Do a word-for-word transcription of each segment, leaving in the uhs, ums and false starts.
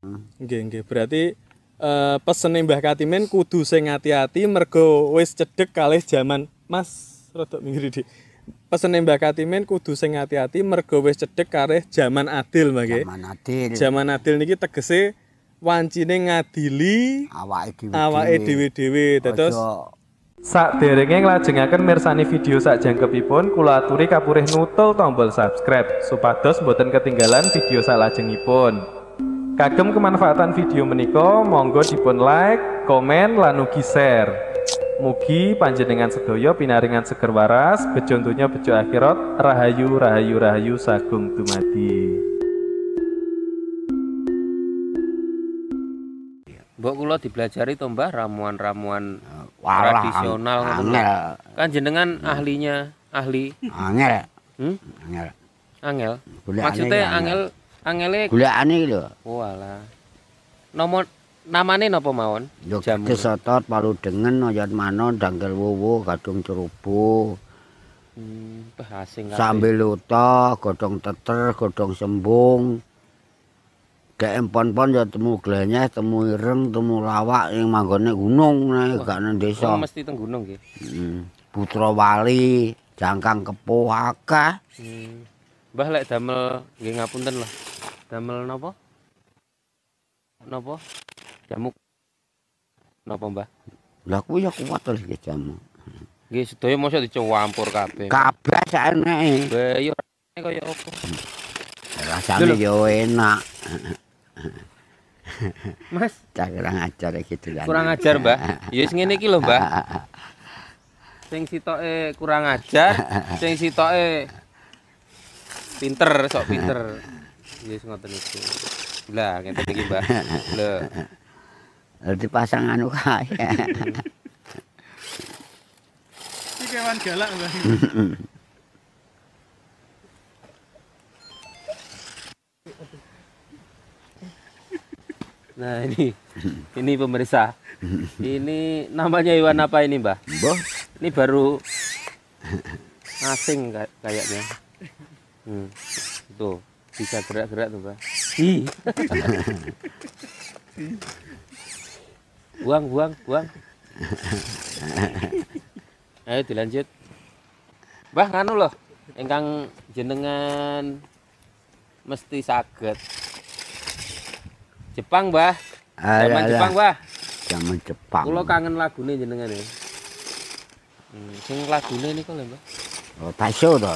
Nggih, nggih. Berarti uh, pesene Mbah Katimin kudu sing ati-ati mergo wis cedhek kalih jaman. Mas, rada minggir iki. Pesene Mbah Katimin kudu sing ati-ati mergo wis cedhek kalih jaman adil, Mbah nggih. Jaman adil. Jaman adil niki tegese wancine ngadili awake dhewe. Awake dhewe-dhewe. Dados sakderenge nglajengaken mirsani video sakjangkepipun kula aturi kapurih nutul tombol subscribe supados boten ketinggalan video salajengipun. Kagem kemanfaatan video menika monggo dipun like, komen lan ugi share. Mugi panjenengan sedaya pinaringan seger waras, bejo donya bejo akhirat, rahayu rahayu rahayu sagung dumadi. Mbok kula dipelajari to Mbah ramuan-ramuan Walah, tradisional angel. Kan jenengan ahlinya, ahli. Angel. Hmm? Angel. Angel. Golekane Maksudnya angel. angel angele Golekane iki lho. walah. Nomor namane napa mawon? Yo Jamu. kesotot palu dengen oyot manon dangkel wuwu gadung cerubu. Hmm, bah asing kabeh. Sambil luto, godhong teter, godhong sembung. Dek empon-pon ya temu glenyeh, temu ireng, temu lawak yang manggone gunung nek gak nang desa. Oh, mesti teng gunung nggih. Hmm. Putra Wali, jangkang kepo akeh. Hmm. Mbah lek damel nggih ngapunten lho. Damel napa? Napa? Jamu. Napa Mbah? Lah kuwi ya kuat lho iki jamu. Nggih sedaya mosok dicampur kabeh. Kabeh saeneke. Lah iya kaya apa? Rasane yo enak. Mas, Cak kurang ajar gitu kan. kurang ajar, Mbah. Ya wis ngene iki lho, Mbah. Sing sitoke kurang ajar, sing sitoke pinter, sok pinter. Ya wis ngoten iku. Lah, ngeten iki, Mbah. Lho. Dadi pasang anu kae. Iki kewan galak, Mbah. Nah, ini ini pemirsa. Ini namanya hewan apa ini, Mbah? Mbah, Ini baru asing kay- kayaknya. Hmm. Tuh, bisa gerak-gerak tuh, Mbah. Ih. buang, buang, buang. Ayo dilanjut. Mbah nganu loh, ingkang jenengan mesti saged. Jepang, Mbah. Zaman Jepang, Mbah. Zaman Jepang. Kula kangen lagune jenengan ya. Hmm, sing lagune niku lho, Mbah. Oh, Taiso to.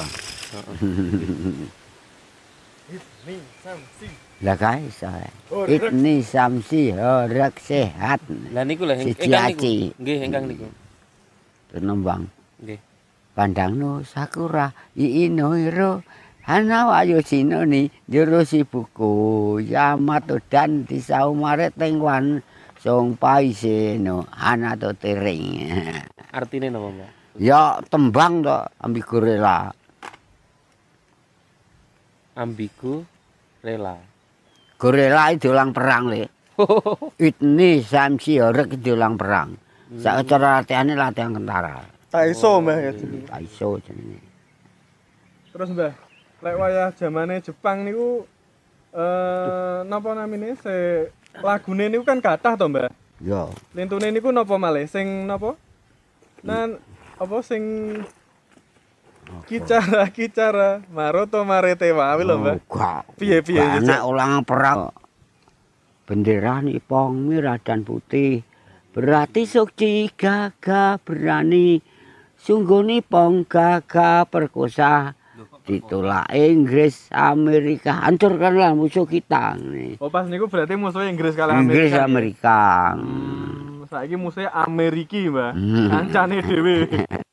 Ini samsi. Lah kae iso. Ibni Samsi horek sehat. Lah niku lho Siji ingkang niku. aci. Nggih, ingkang niku. Tenembang. Nggih. Pandangno sakura iino hiro hana wayo sinoni jero si buku Yamato dan di saumare tengwan song paiseno hana to tering. Artine napa, Mbak? Ya tembang to ambigu rela. Ambigu rela. Gorela itu ulang perang le. Itni Samsi horek itu ulang perang. Sak cara latihane latihan tentara. Taiso, Mbah ya. Taiso jenenge. Terus, Mbah, lek wayah zamane Jepang niku eh napa namine se lagune niku kan kathah to, Mbah. Yo. Lintune niku napa malih sing napa? Nan apa sing kicara kicara maroto marete wae lho, Mbah. Enggak. Piye piye Anak ulang perang. Bendera nipong merah dan putih. Berarti sukci gagah berani. Sungguh nipong gagah perkosa. Ditolak Inggris, Amerika. Hancurkanlah musuh kita. Nih. Oh, pas niku berarti musuhnya Inggris kalah Inggris, Amerika. Amerika. Hmm, saiki musuhnya Ameriki, Mbah. Hmm. Kancane dhewe.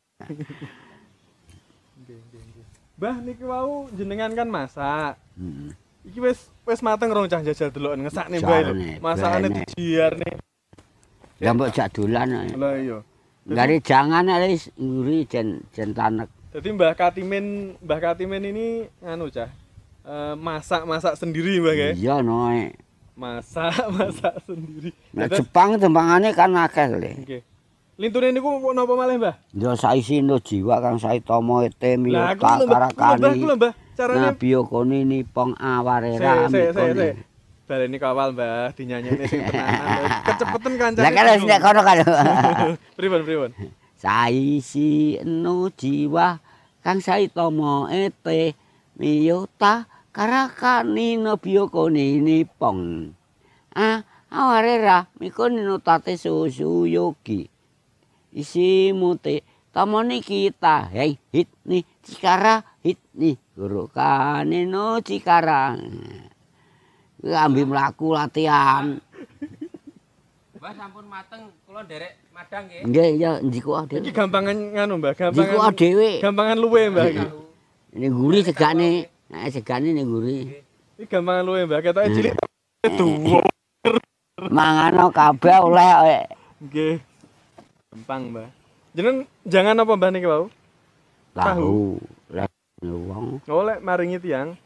Mbah niki wau jenengan kan masak. Hmm. Iki wis wis mateng rong cah jajal deloken ngesakne Mbah lho. Jalane, Masakane blene. dijiarne. Ya mbok jak dolan. Lah iya. Dari jangan wis nguri jen jen tanek. Jadi Mbah Katimin, Mbah Katimin ini nganu cah. eh, masak-masak sendiri, Mbah ya. Iya noe. Masak-masak sendiri. Nah Terus- Jepang tembangane kan akeh le. Nggih. Lintune niku napa malih, Mbah? Yo saisindo jiwa kang saitomo ete Lah aku miyota lho, Mbah. Ku lho, Mbah, ku karakani. lho, Mbah. Carane Nabi koni nipong Se, awarera se, se, se. mikone. baleni kawal Mbah, dinyanyekne sing tenanan. Kecepetan kancane. Lah kan wis nek kono kan. Pripun pripun? Saisi enu jiwa kang saitama ete miyota karakani nabyo kone nipong. Ah, aware ra mikone nutate susu yogi. Isi mute tamani kita hei hit ni cikara hit ni guru kane no cikara. Ambil mlaku latihan. Mbah sampun mateng kula nderek madang nggih. Nggih ya njiku dhewe. Iki gampangan nganu Mbah, gampangan. Njiku dhewe. Gampangan luwe Mbah iki. Ini guri segane, nek segane ning guri. Iki gampangan luwe Mbah, ketoke cilik tuwa. Mangano kabeh oleh. Nggih. Gampang Mbah. Jeneng jangan apa Mbah niki wau? Tahu. Lek wong. Oh lek maringi tiyang.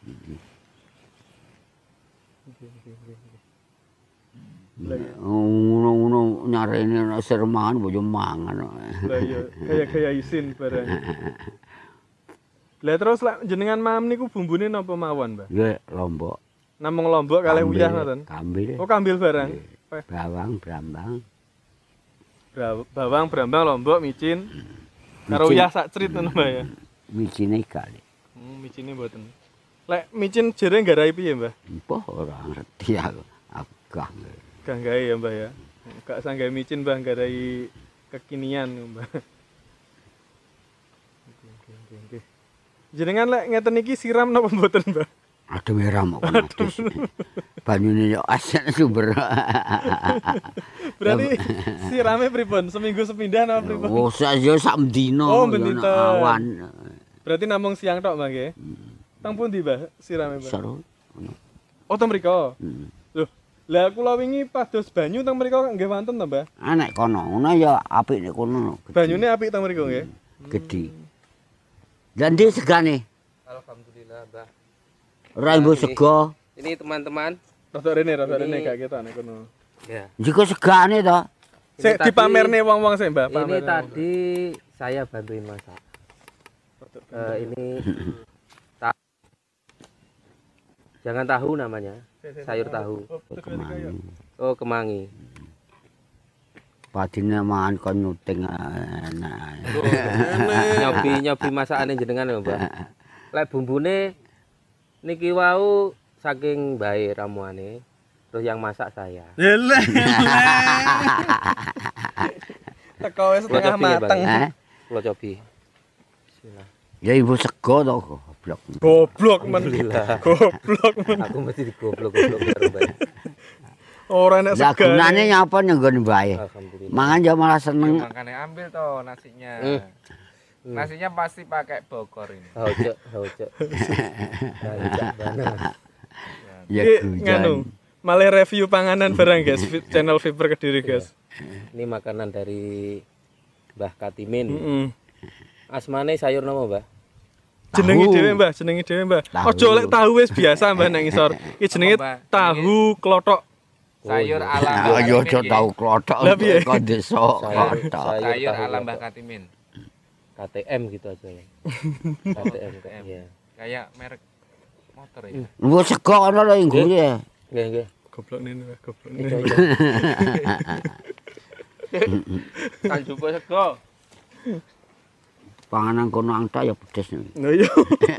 Ngono-ngono nyarene nek sermangan bojo mangan. Lah iya, gaya-gaya isin barang. Lah terus lek jenengan mam niku bumbune napa mawon, Mbah? Nggih, lombok. Namung lombok kalih uyah ngoten. Kambil. Oh, kambil barang. Bawang, brambang. Bawang, brambang, lombok, micin. Karo uyah sak crit ngono, Mbah ya. Micine kali. Hmm, micine mboten. Lek micin jere nggarai piye, Mbah? Mbah ora ngerti aku. Aku gak ngerti. Gak gawe ya Mbah ya. Gak sanggae micin Mbah nggarai kekinian Mbah. Oke oke oke oke. Jenengan lek ngeten iki siram napa mboten, Mbah? Ada merah mau adus. Banyune yo asen sumber. Berarti sirame pripun? Seminggu sepindah napa pripun? Oh, sak yo sak mendino. Oh, mendino. Awan. Berarti namung siang tok, Mbah nggih. Tang pundi, Mbah, sirame, Mbah? Seru. Oh, teng mriko. Hmm. Loh, lah kula wingi pados banyu teng mriko nggih wonten to, Mbah? Ah nek kono ngono ya apik nek kono. Banyune apik teng mriko nggih. Gedhi. Dan dia segane. Alhamdulillah, Mbah. Ora mbo sego. Ini teman-teman. Rada rene, rada rene gak ketok nek kono. Ya. Jika segane to. Sik dipamerne wong-wong sik, Mbah. Ini tadi saya bantuin masak. Uh, ini ta jangan tahu namanya, sayur tahu. Kemangi. Oh, kemangi. Padine mangan kon nyuting enak. nyobi nyobi masakane jenengan ya, Mbah. Lek bumbune niki wau saking bae ramuane, terus yang masak saya. Lele. Teko wis setengah mateng. Kula cobi. Bismillah. Ya ibu sego to goblok. Goblok men. Goblok men. Aku mesti digoblok-goblok karo Mbah. Ora nek Lah segan. gunane nyapa nyenggon bae. Alhamdulillah. Mangan ya malah seneng. Makanya ambil toh nasinya. Hmm. Nasinya pasti pakai Bogor ini. Haucuk, haucuk. Ya Iki nganu, malah review panganan barang guys, channel Viper Kediri guys. Ini makanan dari Mbah Katimin. Heeh. Asmane sayur napa, Mbah? Jenenge dhewe, Mbah, jenenge dhewe, Mbah. Ojo lek tahu wis biasa, Mbah, nang ngisor. Iki jenenge tahu klothok. Sayur Oh, ala Ya yo aja tau klothok kok desa klothok. sayur tahu ala klothok. Mbah Katimin. K T M gitu aja ya. K T M, ya. Kayak merek motor ya. Lu sego ana lho nggo ya. Nggih, nggih. Goblok nene, Mbah, goblok Itu nene. aja. Kan jupo sego. Panganan kono angta ya pedes. Nah iya.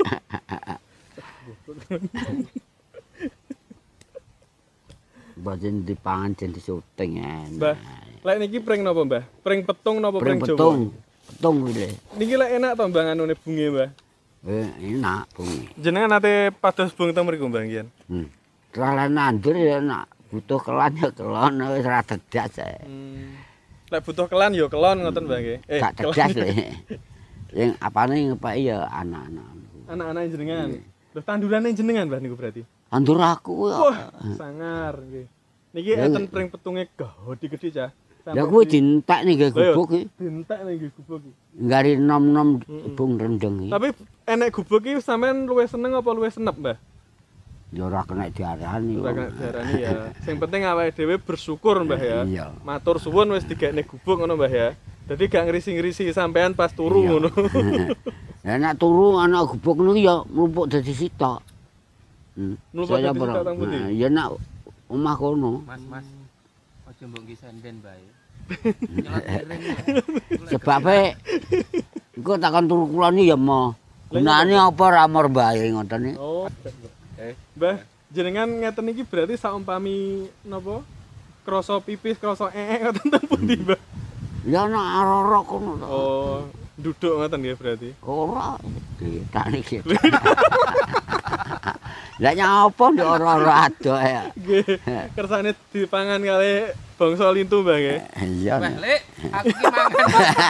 Bajen dipangan jen disuting Mbah, enak. lek niki pring napa, Mbah? Pring petung napa Pring pring Jawa? petung. Petung kuwi. Niki lek enak to, Mbah, nganune bunge, Mbah. Eh enak bungi. Jenengan nate pados bung teng mriku, Mbah, nggih. Hmm. Terlalu nandur ya enak. Butuh kelan ya kelon wis ra dedas ae. Hmm. Lek butuh kelan ya kelon ngoten, Mbah, nggih. Eh, Gak dedas le. Yang apane ngepeki ya anak-anak. anak-anak jenengan. Lho tandurane jenengan, Mbah, niku berarti. Tandur aku ya. Wah, sangar nggih. Niki enten pring petunge gede-gede cah. Ya kuwi dientek ning gubuk iki. Dientek ning gubuk iki. Ngari nom-nom bung rendeng iki. Tapi enek gubuk iki sampean luwih seneng apa luwih senep, Mbah? Ya ora kena diarani. Ora kena diarani ya. Sing penting awake dhewe bersyukur, Mbah ya. Iya. Matur suwun wis digekne gubuk ngono, Mbah ya. Dadi gak ngrisi-ngrisi sampean pas turu ngono. Lah nek turu ana gubuk niku ya mlumpuk dadi sitok. Hmm. Mlumpuk Saya dadi pernah- sitok teng pundi? Nah, ya nak omah kono. Mas, Mas. Aja mbok nggih senden bae. Nyelot miring. Sebabe engko takon turu kula ni ya mo. Gunane apa ra mor bae ngoten iki. Oh. Eh, Mbah, jenengan ngeten iki berarti saumpami napa? Krasa pipis, krasa ee ngoten ten pundi, Mbah? Ya ana aroro kono to. Oh, duduk ngoten ya berarti. Ora ditani iki. Lah nyapa ndek ora-ora ado ya. Nggih, kersane dipangan kali bangsa lintu, Mbah nggih. Iya. Wah, Lek, aku ki mangan.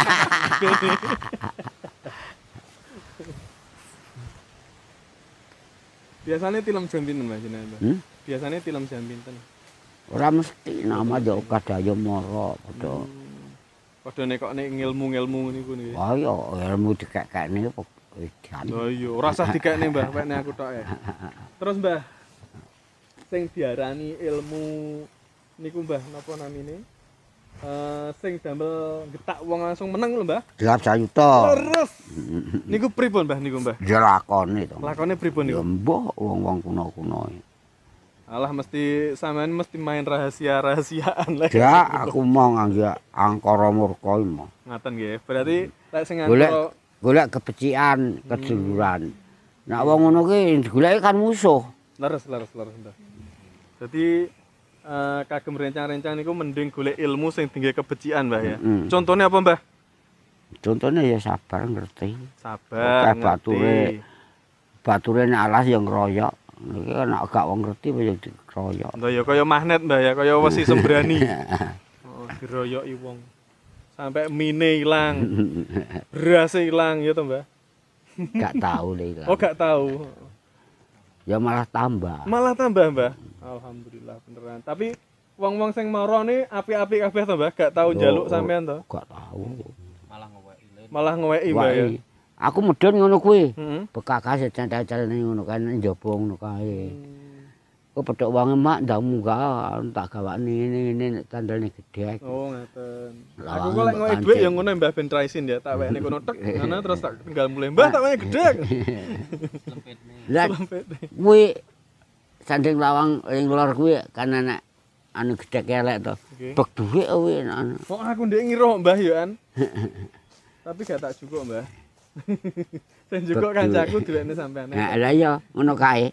Biasanya tilam jam pinten, Mbah jenengan, Mbah? Hmm? Biasanya tilam jam pinten. Ora mesti nama yo kadaya mara padha. Padha nek kok nek ngilmu-ngilmu niku nggih. Wah ya ilmu dikekekne edan. Oh iya, ora usah dikekne, Mbah, wekne aku tok ya. Terus, Mbah, sing diarani ilmu niku, Mbah, napa namine? Eh sing damel getak wong langsung meneng lho, Mbah. Gelar sayuta. Terus niku pripun, Mbah, niku, Mbah? Ya lakone to. Lakone pripun Ya niku? mbah wong-wong kuno-kuno. Alah mesti sampean mesti main rahasia-rahasiaan lah. Ya aku mau ngangge angkara murka iki mau. Ngaten nggih. Berarti lek sing Golek antara golek kebecikan, keduluran. Nek wong ngono ki digoleki kan musuh. leres leres leres, Mbah. Jadi eh, kagem rencang-rencang niku mending golek ilmu sing tinggi kebecikan, Mbah ya. Mm. Contohnya apa, Mbah? Contohnya ya sabar ngerti. Sabar, Oke, bature. Bature nek alas ya ngeroyok. Iki nek gak wong ngerti ya dikeroyok. Lah ya kaya magnet, Mbah ya, kaya wesi sembrani. Oh, diroyoki wong. Sampai mine ilang, beras ilang ya to, Mbah. Gak tahu deh. Oh, gak tahu. Ya malah tambah. Malah tambah, Mbah. Alhamdulillah beneran. Tapi wong-wong sing mara ni api-api kabeh to, Mbah. Gak tahu njaluk sampean to. Gak tahu. Malah ngeweki. Malah ngeweki, Mbah ya. Wai. Aku medhun ngono kuwi. Heeh. Bekakas cantel-cantel ngono kan njaba ngono kae. Kok pedhok wange mak ndak munggah tak gawakne ngene-ngene tandane gedhe. Oh, ngaten. Lawang Aku kok lek ngeweki dhuwit ya ngono Mbah ben traisin ya, tak wekne kono tek, ngono terus tak tinggal mulai. Mbah tak wekne gedhe. Lah kuwi sanding lawang ing lor kuwi kan ana anu gedhe elek to. Oke. Bek dhuwit kuwi anu. Kok aku ndek ngira Mbah ya an. Tapi gak tak cukup, Mbah. Sing cukup kancaku duwene sampean. Nah, lah ya ngono kae.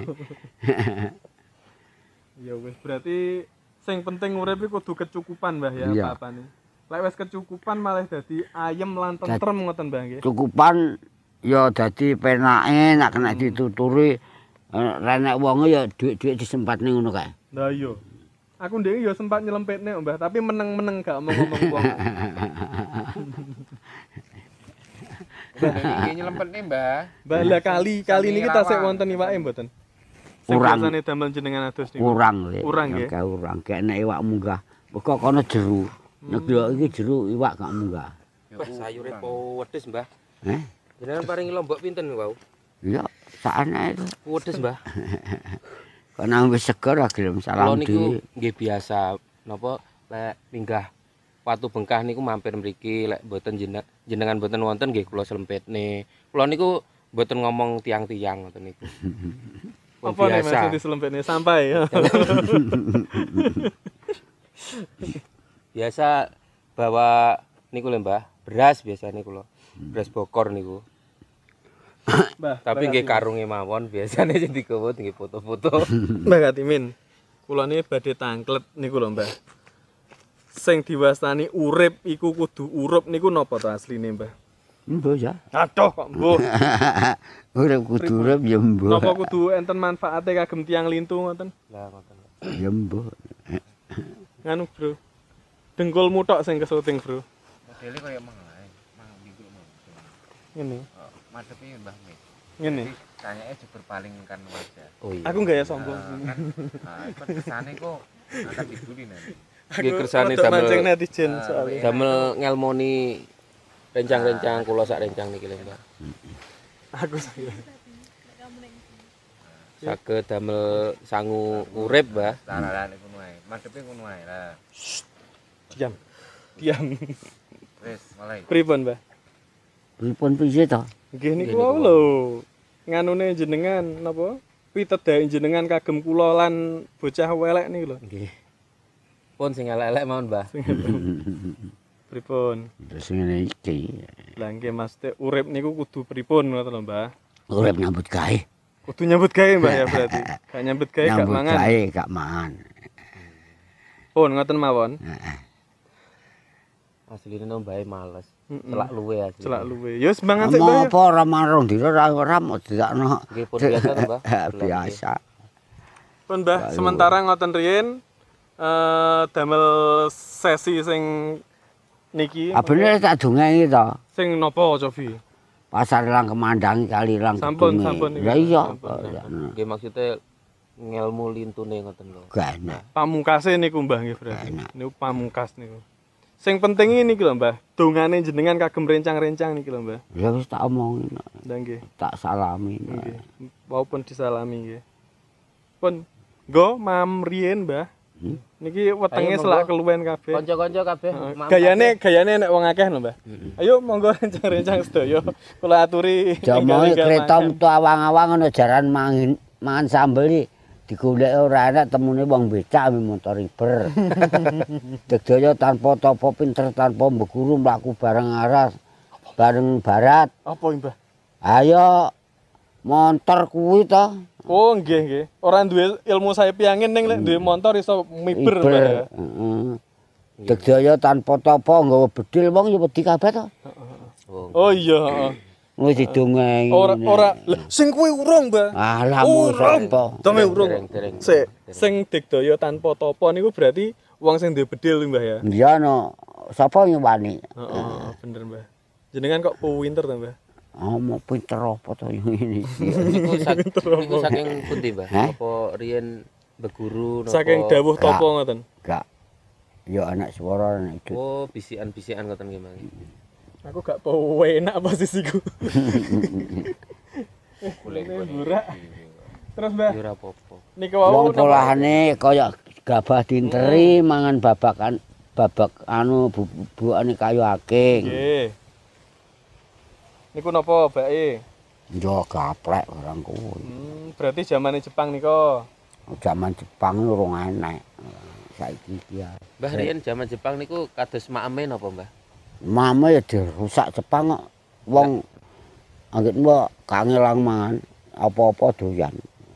Ya wis berarti sing penting urip iki kudu kecukupan, Mbah ya, Iya. apa-apane. Lek wis kecukupan malah dadi ayem lan tentrem ngoten, Mbah nggih. Cukupan ya dadi penake nek kena dituturi eh, renek wonge ya dhuwit-dhuwit disempatne ngono kae. Lah iya. Aku ndek ya sempat nyelempetne, Mbah, tapi meneng-meneng gak ngomong-ngomong wong. Mbah niki nyelempetne, Mbah. Mbah lah kali kali niki tasik wonten iwake mboten. Sing Urang. biasane damel jenengan adus niku. Kurang le. Kurang, nggih. Kae urang. Kayak nek iwak munggah. Kok kono jeru. Nek yo iki jeru iwak gak munggah. Wah, sayure pedes, Mbah. Eh? Jenengan paringi lombok pinten wau? Iya, sakane itu. Pedes, Mbah. Kok nang wis seger ra gelem Kula salam niku di. nggih biasa napa lek minggah Watu Bengkah niku mampir mriki lek mboten jenengan jenengan mboten wonten nggih kula slempetne. Kula niku mboten ngomong tiang-tiang ngoten niku. Pun Apa nek biasa. maksud diselempetne sampai. Biasa bawa niku lho Mbah, beras biasane kula. Beras bokor niku. Mbah, Tapi nggih karunge mawon biasane sing digawa nggih foto-foto. Mbah Katimin. Kula niki badhe tangklet niku lho, Mbah. Sing diwastani urip iku kudu urup niku napa to asline, Mbah? Mbo ya. Aduh kok mbuh. Urip kudu urip ya mbo. Napa kudu enten manfaate kagem tiang lintu ngoten? Lah ngoten. Ya mbo. Nganu, Bro. Dengkulmu tok sing kesuting, Bro. Modele kaya mang ae, mang minggu ngono. Ngene. Oh, madepe Mbah Mit. Ngene. Tanyake jebur paling kan wajah. Oh iya. Aku gak ya sombong. Kan ah, kan kesane kok angkat dibuli nanti. Nggih kersane rada mancing damel netizen soalnya. damel ngelmoni rencang-rencang kula sak rencang niki lho Mbah. Aku saya. Saged damel sangu urip, Mbah. Larane ngono ae. Madepe ngono ae lah. Diam. Diam. Wis, mulai. Pripun, Mbah? Pripun piye to? Nggih niku wae lho. Nganune jenengan napa? pitedhae jenengan kagem kula lan bocah welek niku lho. Nggih. Pun sing elek-elek mawon, Mbah. Pripun? Terus ngene iki. Lah nggih maksudnya urip niku kudu pripun ngoten lho, Mbah. Urip nyambut gawe. Kudu nyambut gawe, Mbah ya berarti. Gak nyambut gawe gak Nyambut mangan. gawe gak mangan. Pun ngoten mawon. Heeh. Asline no mbae males. Mm-mm. Celak luwe asline. Celak luwe. Ya wis mangan sik, Mbah. Mau apa ora marung dina ora ora mau didakno. Nggih pun biasa to, Mbah. Biasa. Pun Mbah, sementara ngoten riyin eh damel sesi sing niki. Abene tak dongengi to. Sing napa, Cofi? Pasar Lang Kemandangi kali Lang. Sampun, Kedunge. sampun. Lah iya. Nggih maksudnya ngelmu lintune ngoten lho. Gak enak. Pamungkase niku Mbah nggih berarti. Enak. Niku pamungkas niku. Sing penting ini lho Mbah, dongane jenengan kagem rencang-rencang niki lho Mbah. Ya wis tak omongin. Lah nggih. Tak salami. Nggih. Walaupun disalami nggih. Pun nggo mam riyen Mbah. Hmm? Niki wetenge Ayo, selak monggo. keluwen kabeh. Kanca-kanca kabeh. Heeh. maaf Gayane gayane nek wong akeh lho Mbah. Ayo monggo rencang-rencang sedaya. Kula aturi. Jamoe enggal-enggal kereta makan. metu awang-awang ana jaran mangan mangan sambel iki digoleki ora enak temune wong becak mi motor iber. Degdaya tanpa tapa pinter tanpa mbeguru mlaku bareng aras bareng barat. Apa iki Mbah? Ayo montor kuwi to. Oh nggih nggih. Ora duwe ilmu sayap angin ning lek duwe motor iso miber Mbah ya. Heeh. Degdaya tanpa tapa nggawa bedil wong ya wedi kabeh to. Oh iya, heeh. Wis didongengi. Ora ora Lah, sing kuwi urung, Mbah. Alah mu sapa. Dome urung. dereng, dereng. Sik, sing digdaya tanpa tapa niku berarti wong sing duwe bedil Mbah ya. Iya no. Sapa nyuwani? Heeh, bener Mbah. Jenengan kok pinter to, Mbah? Oh, mau pinter apa to ini? Niku sak- niku saking pundi, Mbah? Hah? Apa riyen beguru napa? Saking dawuh Gak. tapa ngoten. Gak. Ya anak suara anak itu. Oh, bisikan-bisikan ngoten nggih, Mang. Aku gak penak posisiku. Golek Burak. Terus Mbah, ya ora apa-apa. niku wau Wong polahane kaya gabah dinteri mangan babakan babak anu bubukane kayu aking. nggih. Niku napa, Bake? Yo gaplek orang kuwi. Hmm, berarti zamane Jepang nika. Zaman Jepang urung enek. Saiki iki ya. Mbah riyen jaman Jepang niku kados makame napa, Mbah? Mama ya dirusak Jepang kok. Wong anggit mbok kangelang mangan apa-apa doyan.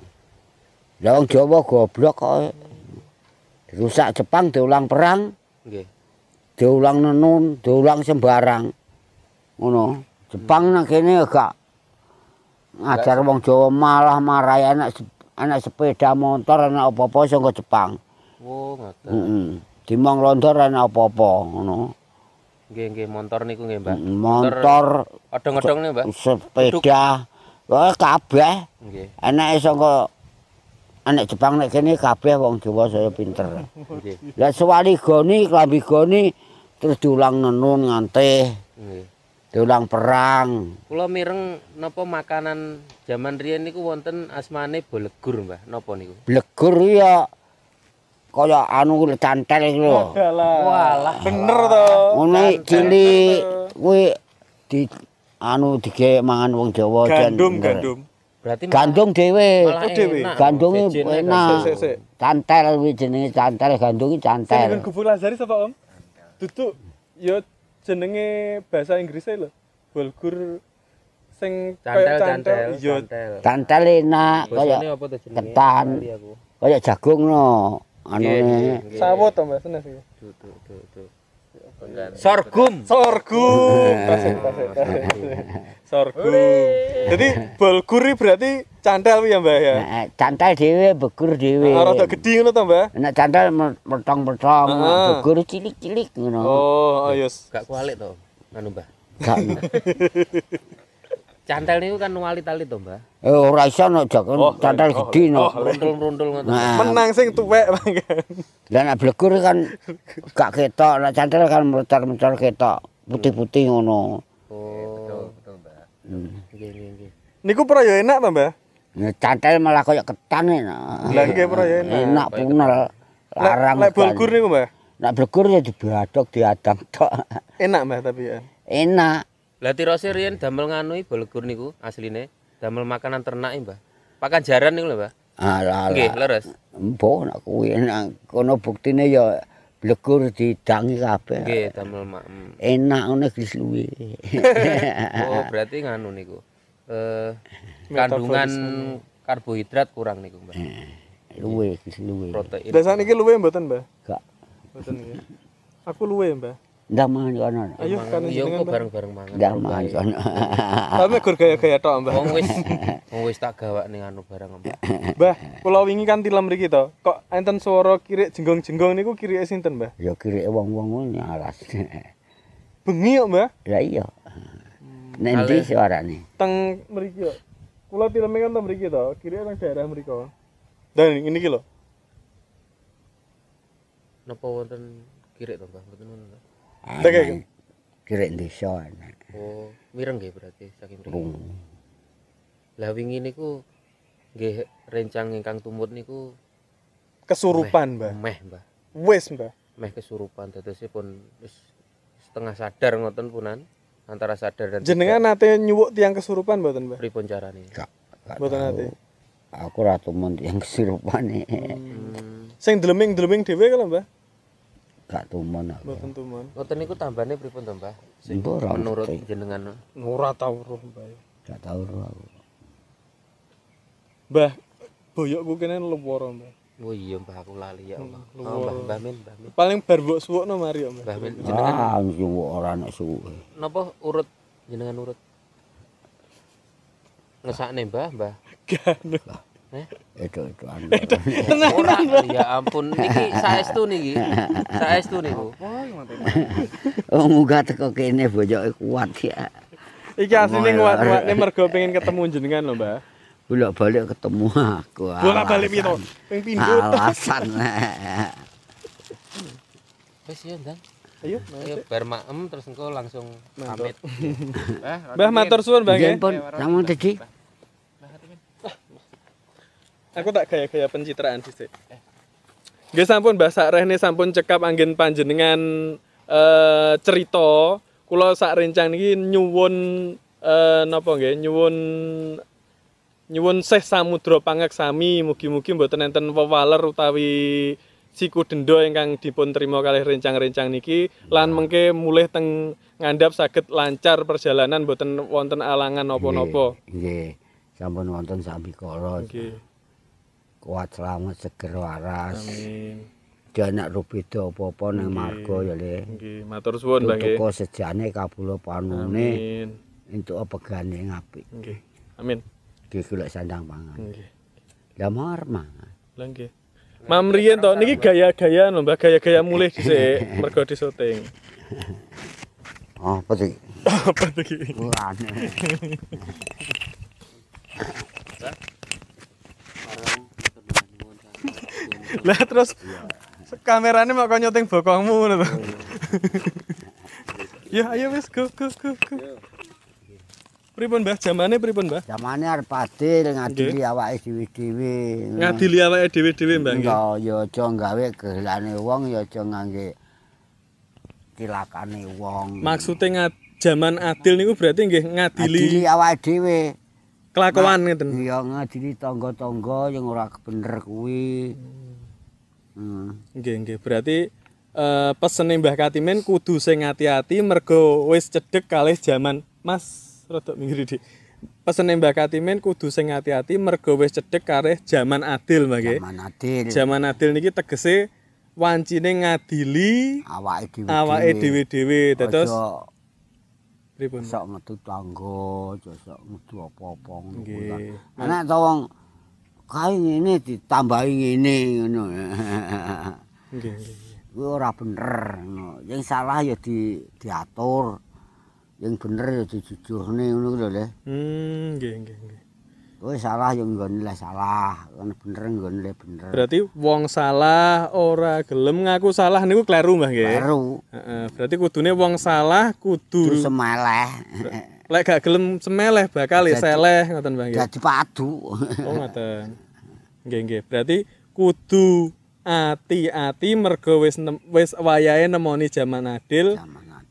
Lah wong Jawa goblok kok. Dirusak Jepang diulang perang, Nggih. diulang nenun, diulang sembarang. Ngono. Jepang nang kene gak ngajar wong Jawa malah marahi anak anak sepeda motor anak apa-apa saka Jepang. Oh, ngoten. Heeh. Dimong londor anak apa-apa ngono. Nggih, nggih, motor niku nggih, Mbah. Motor, Odong-odong niku, Mbah. sepeda, wah kabeh. Nggih, Anake saka anak Jepang nek kene kabeh wong Jawa saya pinter. nggih, Lah sewali goni, klambi goni terus diulang nenun ngantih, nggih. diulang perang. Kula mireng napa makanan jaman riyen niku wonten asmane bolegur, Mbah. Napa niku? Blegur ya kaya anu cantel iki lho. Walah, bener to. Ngono cilik kuwi di anu dige mangan wong Jawa jan Gandum, bener. gandum. Berarti Gandum dhewe. malah Oh, dhewe. enak. Gandumnya Jejene enak. gandum. Sik, sik. Cantel kuwi jenenge cantel, gandum iki Sing cantel. nggon Gubuk Lazari sapa, Om? Duduk ya jenenge bahasa Inggrisnya lho. Bulgur sing Cantel, kaya cantel, Iya, cantel. Cantel enak kaya Basane apa to jenenge? ketan. Lali aku. kaya jagung no. Nggih, Anune nggih, nggih. sawut to, Mbak, senes iki. Tuh, tuh, tuh, tuh. Sorghum. Sorghum. Tasik, tasik, tasik. Sorghum. Jadi bulgur iki berarti cantel kuwi ya, Mbak ya. Nah, cantel dhewe, begur dhewe. Ah, rada gedhi ngono to, Mbak? Nek cantel metong-metong, Heeh. begur cilik-cilik ngono. Oh, oh yes. Gak kualik to. Anu, Mbah. Gak. Cantel niku kan nuwali-tali to, Mbah. Eh ora iso nek jagung Oh, cantel oh, gedhi no. Rundul-rundul ngoten. Nah, Menang sing tuwek mangken. lah nek blegur kan gak ketok, nek cantel kan mecar-mecar ketok, putih-putih ngono. Oh, Betul, Mbak. nggih, nggih, nggih. Niku pra ya enak to, Mbak? Nek cantel malah kaya ketan enak. Lah nggih pra ya enak. Enak punel. Larang. Lek bulgur niku, Mbak. Nek blegur ya diadok diadam tok. Enak, Mbak, tapi ya. Enak. Lah tirose riyen damel nganu bolegur niku asline damel makanan ternak, Mbah. Pakan jaran niku lho, Mbah. Alah. Nggih, leres. Mbok nak kuwi nak kono buktine ya blegur didangi kabeh. Nggih, damel makem. Enak ngono gis luwe. Oh, berarti nganu niku. Eh kandungan karbohidrat kurang niku, Mbah. Luwe gis luwe. Protein. Lah sakniki luwe mboten, Mbah? Gak. Mboten nggih. Aku luwe, Mbah. Ndak mangan kono. Ayo kan Iya jenengan, kok Mbah. bareng-bareng mangan. Ndak mangan kono. Tapi gur gaya-gaya tok, Mbah. Wong wis wong wis tak gawakne anu barang, Mbah. Mbah, kula wingi kan tilem mriki to. Kok enten swara kirik jenggong-jenggong niku kirike sinten, Mbah? Ya kirike wong-wong ngono nyaras. Bengi kok, Mbah. Lah iya. Nek ndi suarane? Teng mriki kok. Kula tileme kan teng mriki to, kirike teng daerah mriko. Dan ini iki lho. Napa wonten kirik to, Mbah? Mboten ngono to. Dek. Kirek desa. Oh, mireng nggih berarti saking mriki. Bung. Lah wingi niku nggih rencang ingkang tumut niku Kesurupan, Mbah. meh, Mbah. Wis, Mbah. Meh kesurupan dadosipun wis setengah sadar ngoten punan antara sadar dan Jenengan nate nyuwuk tiang kesurupan mboten, Mbah? pripun carane? Gak. Mboten nate. Aku ra tumun yang kesurupane. Hmm. Sing dleming-dleming dhewe kalau, Mbah? Gak tumun aku. Mboten tumun. Ngoten niku tambane pripun to, Mbah? Sing Mbok ora menurut ngerti. jenengan. Ora tau roh, Mbah. Gak tau ro aku. Mbah, boyokku kene luwara, Mbah. Oh iya, Mbah aku lali ya Allah. Hmm, Oh, Mbah, Mbah Min, Mbah Min. Paling bar mbok suwukno mari kok, Mbah. Mbah Min jenengan Ah, nyuwuk ora nek suwe. napa urut jenengan urut? Ngesakne, Mbah, Mbah. Ganu. Eh? Itu itu anu. Ora, ya ampun niki saestu niki. Saestu niku. Oh, munggah teko kene bojoke kuat ya. Iki asline nguat-nguatne mergo pengen ketemu jenengan lho, Mbah. Bolak-balik ketemu aku. Bolak-balik piye to? Ping pindho. Alasan. Wis ya, Ndang. Ayo, Ayo bar maem terus engko langsung pamit. Mbah matur suwun, Mbah nggih. Nggih pun, namun tadi Aku tak gaya-gaya pencitraan dhisik. Nggih sampun Mbah sakrehne sampun cekap anggen panjenengan eh cerita kula sak rencang niki nyuwun eh napa nggih nyuwun nyuwun Seh Samudra Pangaksami mugi-mugi mboten enten wewaler utawi siku denda ingkang dipun trima kalih rencang-rencang niki lan mengke mulih teng ngandhap saged lancar perjalanan mboten wonten alangan napa-napa. nggih. Sampun wonten sami kala. Nggih. Kuat selamat seger waras. Amin. Dia anak rubeda apa-apa nang marga ya le. Nggih, matur suwun Mbah nggih. Tuku sejane kabula panune Amin. entuk pegane ngapik. Nggih. Amin. Nggih golek sandang pangan. Nggih. Lah mar mangan. Lah nggih. Mam riyen to niki gaya-gayaan lho Mbah, gaya-gaya mulih dhisik mergo di syuting. Oh, peti. Apa to iki? Aneh. Lah terus kamerane mau kok nyuting bokongmu ngono to. Ya ayo wis go go go go. Pripun Mbah jamane pripun Mbah? Zamane arep adil ngadili awake dhewe-dhewe. Ngadili awake dhewe-dhewe Mbah nggih. Enggak, ya aja gawe kehelane wong, ya aja ngangge cilakane wong. Maksude ngad jaman adil niku berarti nggih ngadili Adili awake dhewe. kelakuan ngeten. Iya ngadili tangga-tangga yang ora bener kuwi. Hmm. Nggih nggih berarti eh pesene Mbah Katimin kudu sing ati-ati mergo wis cedhek kalih jaman Mas rada minggir iki. Pesene Mbah Katimin kudu sing ati-ati mergo wis cedhek kalih jaman adil Mbah nggih. Zaman adil. Jaman adil niki tegese wancine ngadili Awake dhewe. awake dhewe-dhewe dados Aja pripun? sok metu tangga, aja sok metu apa-apa ngono kuwi. Nggih. Anak ta wong kae ngene ditambahi ngene ngono. Nggih nggih. Kuwi ora bener ngono. Yang salah ya di diatur. Yang bener ya dijujurne ngono lho Le. Hmm nggih nggih nggih. Kowe salah ya nggone le salah, kan bener nggone le bener. Berarti wong salah ora gelem ngaku salah niku kleru Mbah nggih. Baru Heeh, berarti kudune wong salah kudu terus semeleh. lek gak gelem semeleh bakal ya Jadi- seleh ngoten Mbah nggih. Jadi padu. Oh ngoten. Nggih nggih. Berarti kudu ati-ati mergo wis nem- wis wayahe nemoni jaman adil Zaman adil.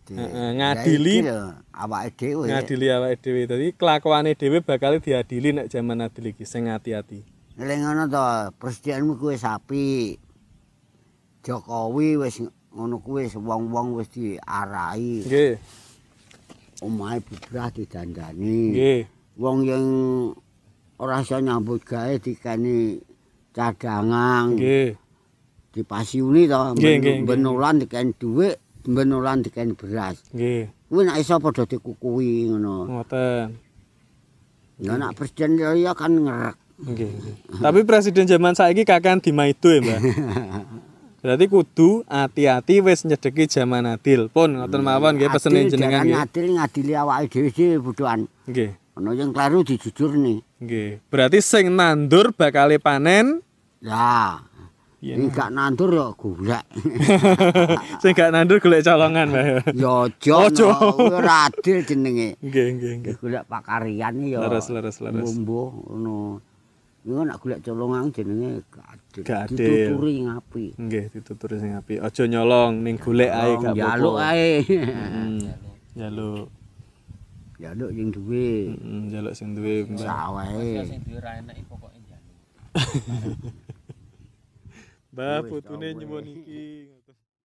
Heeh, ngadili awake dhewe. Ngadili awake dhewe. Dadi kelakuane dhewe bakal diadili nek jaman adil iki sing ati-ati. Nek ngono to, presidenmu kuwi sapi. Jokowi wis ngono kuwi wong-wong wis diarahi. Nggih. Omahe bubrah didandani. Nggih. Wong yang ora iso nyambut gawe dikani cadangan. Nggih. Dipasiuni to, benolan dikani dhuwit, benolan dikani beras. Nggih. Kuwi nek iso padha dikukuhi ngono. Ngoten. Ya nek presiden ya kan ngerek. Nggih, nggih. Tapi presiden zaman saiki kakean dimaido ya, Mbah. Berarti kudu ati-ati wis nyedeki jaman adil. Pun ngoten mawon nggih pesene jenengan nggih. Adil ngadili awake dhewe dhewe butuhan. Nggih. Ana yang kleru dijujurne. Nggih. Berarti sing nandur bakale panen. Ya. Ini gak nandur ya golek. Sing gak nandur golek colongan, Mbah. Ya aja ora adil jenenge. Nggih, nggih, nggih. Golek pakarian ya. Leres, leres, leres. Mbuh ngono. Iku nek golek colongan jenenge gak adil. Gak adil. Dituturi ngapi. Nggih, dituturi sing apik. Aja nyolong ning golek ae gak apa-apa. Njaluk ae. Heeh. Njaluk. Njaluk sing duwe. Heeh, njaluk sing duwe, Mbah. Sawae. Sing duwe ra enek pokoke njaluk. Mbah, putune nyuwun iki.